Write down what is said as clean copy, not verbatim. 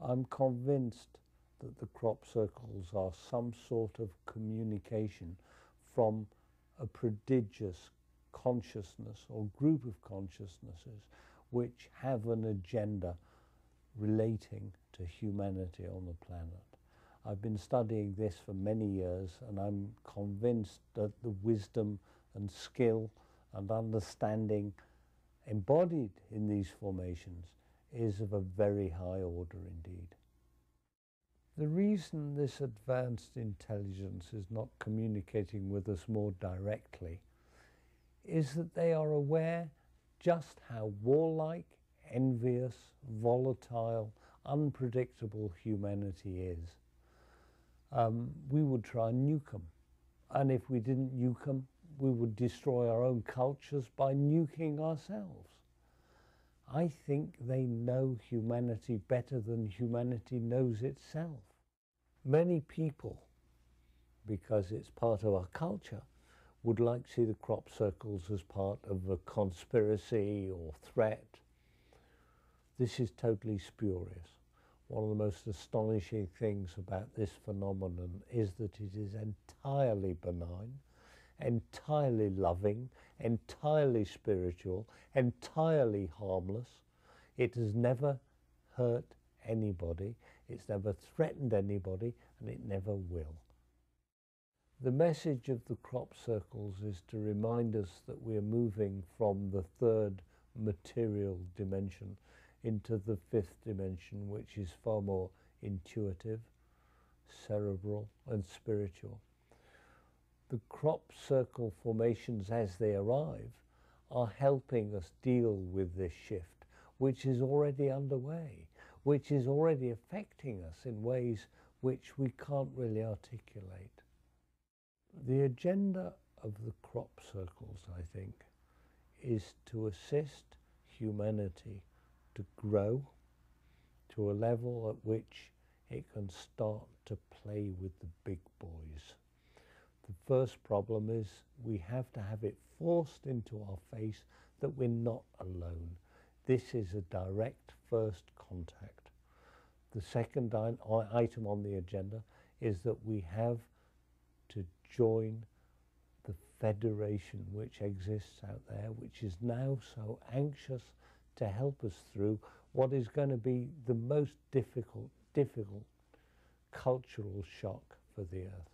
I'm convinced that the crop circles are some sort of communication from a prodigious consciousness or group of consciousnesses which have an agenda relating to humanity on the planet. I've been studying this for many years, and I'm convinced that the wisdom and skill and understanding embodied in these formations is of a very high order indeed. The reason this advanced intelligence is not communicating with us more directly is that they are aware just how warlike, envious, volatile, unpredictable humanity is. We would try and nuke them. And if we didn't nuke them, we would destroy our own cultures by nuking ourselves. I think they know humanity better than humanity knows itself. Many people, because it's part of our culture, would like to see the crop circles as part of a conspiracy or threat. This is totally spurious. One of the most astonishing things about this phenomenon is that it is entirely benign, entirely loving, entirely spiritual, entirely harmless. It has never hurt anybody, it's never threatened anybody, and it never will. The message of the crop circles is to remind us that we are moving from the third material dimension into the fifth dimension, which is far more intuitive, cerebral, and spiritual. The crop circle formations as they arrive are helping us deal with this shift, which is already underway, which is already affecting us in ways which we can't really articulate. The agenda of the crop circles, I think, is to assist humanity to grow to a level at which it can start to play with the big boys. The first problem is we have to have it forced into our face that we're not alone. This is a direct first contact. The second item on the agenda is that we have to join the federation which exists out there, which is now so anxious to help us through what is going to be the most difficult cultural shock for the Earth.